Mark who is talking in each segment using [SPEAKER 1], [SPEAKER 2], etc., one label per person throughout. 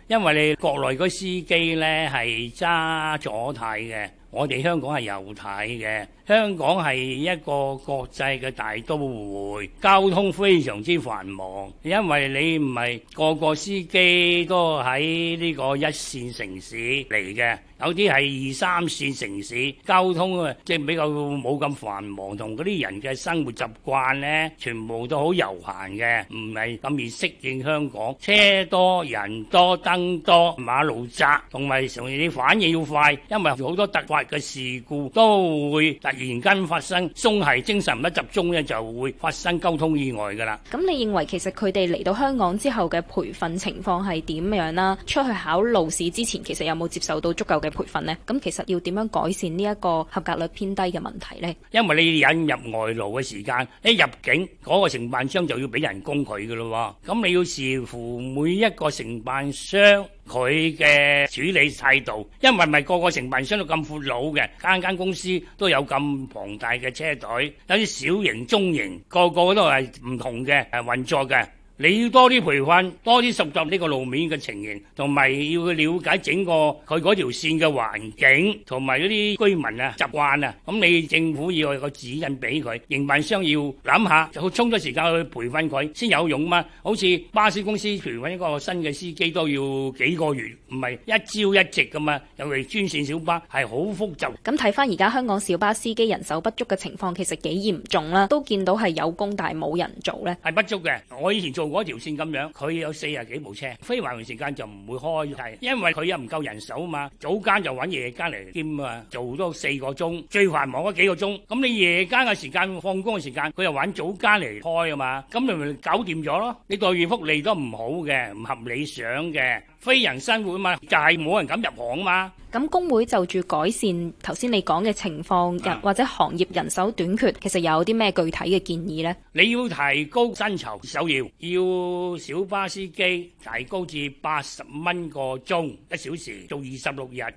[SPEAKER 1] 因為你國內嗰司機呢係揸左軚嘅，我哋香港係右軚嘅。香港係一個國際嘅大都會，交通非常之繁忙，因為你唔係個個司機都喺呢個一線城市嚟嘅，有啲係二三線城市，交通啊即係比較冇咁繁忙，同嗰啲人嘅生活習慣呢，全部都好悠閒嘅，唔係咁易適應香港。車多人多燈多，馬路窄，同埋常你反應要快，因為好多突發嘅事故都會突然間發生，鬆懈精神唔得集中咧，就會發生交通意外噶啦。
[SPEAKER 2] 咁你認為其實佢哋嚟到香港之後嘅培訓情況係點樣啦？出去考路試之前，其實有冇接受到足夠嘅培訓呢？咁其實要點樣改善呢一個合格率偏低嘅問題呢？
[SPEAKER 1] 因為你引入外勞嘅時間，一入境嗰個承辦商就要俾人工佢噶咯，咁你要視乎每一個承辦商佢嘅處理態度，因為唔係個個承辦商都咁闊佬嘅，間間公司都有咁龐大嘅車隊，有啲小型、中型，個個都係唔同嘅運作嘅。你要多啲培訓，多啲熟習呢個路面嘅情形，同埋要去了解整個佢嗰條線嘅環境，同埋嗰啲居民啊習慣啊。咁你政府要有個指引俾佢，營辦商要諗下，就充咗時間去培訓佢先有用嘛。好似巴士公司培訓一個新嘅司機都要幾個月，唔係一朝一夕噶嘛。尤其專線小巴係好複雜。
[SPEAKER 2] 咁睇翻而家香港小巴司機人手不足嘅情況，其實幾嚴重啦，都見到係有工但係冇人做呢。
[SPEAKER 1] 係不足嘅。我以前做嗰條線咁樣，佢有40幾部車，非繁忙時間就唔會開，係因為佢又唔夠人手啊嘛。早間就揾夜間嚟兼啊，做多4個鐘，最繁忙嗰幾個鐘。咁你夜間嘅時間放工嘅時間，佢又揾早間嚟開啊嘛。咁你咪搞掂咗咯。你待遇福利都唔好嘅，唔合理想嘅，非人生活啊嘛，就係冇人敢入行啊嘛。
[SPEAKER 2] 咁工會就住改善頭先你講嘅情況，或者行業人手短缺，其實有啲咩具體嘅建議呢？
[SPEAKER 1] 你要提高薪酬，首要小巴司機提高至80蚊個鐘1小時，做26日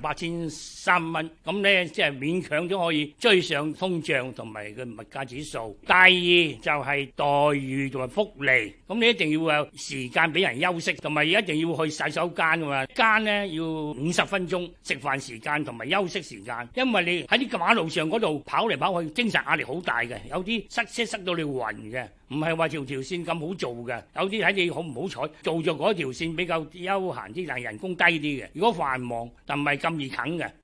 [SPEAKER 1] ，18,300蚊。咁呢即係勉強都可以追上通脹同埋個物價指數。第二就係待遇同埋福利，咁你一定要有時間俾人休息，同埋一定要去洗手間噶嘛。間呢要50分鐘。食飯時間同埋休息時間，因為你喺啲馬路上嗰度跑嚟跑去，精神壓力好大嘅，有啲塞車塞到你暈嘅，唔係話條線咁好做嘅，有啲睇你好唔好彩，做咗嗰條線比較休閒啲，但係人工低啲嘅。如果繁忙，但唔係咁易啃嘅。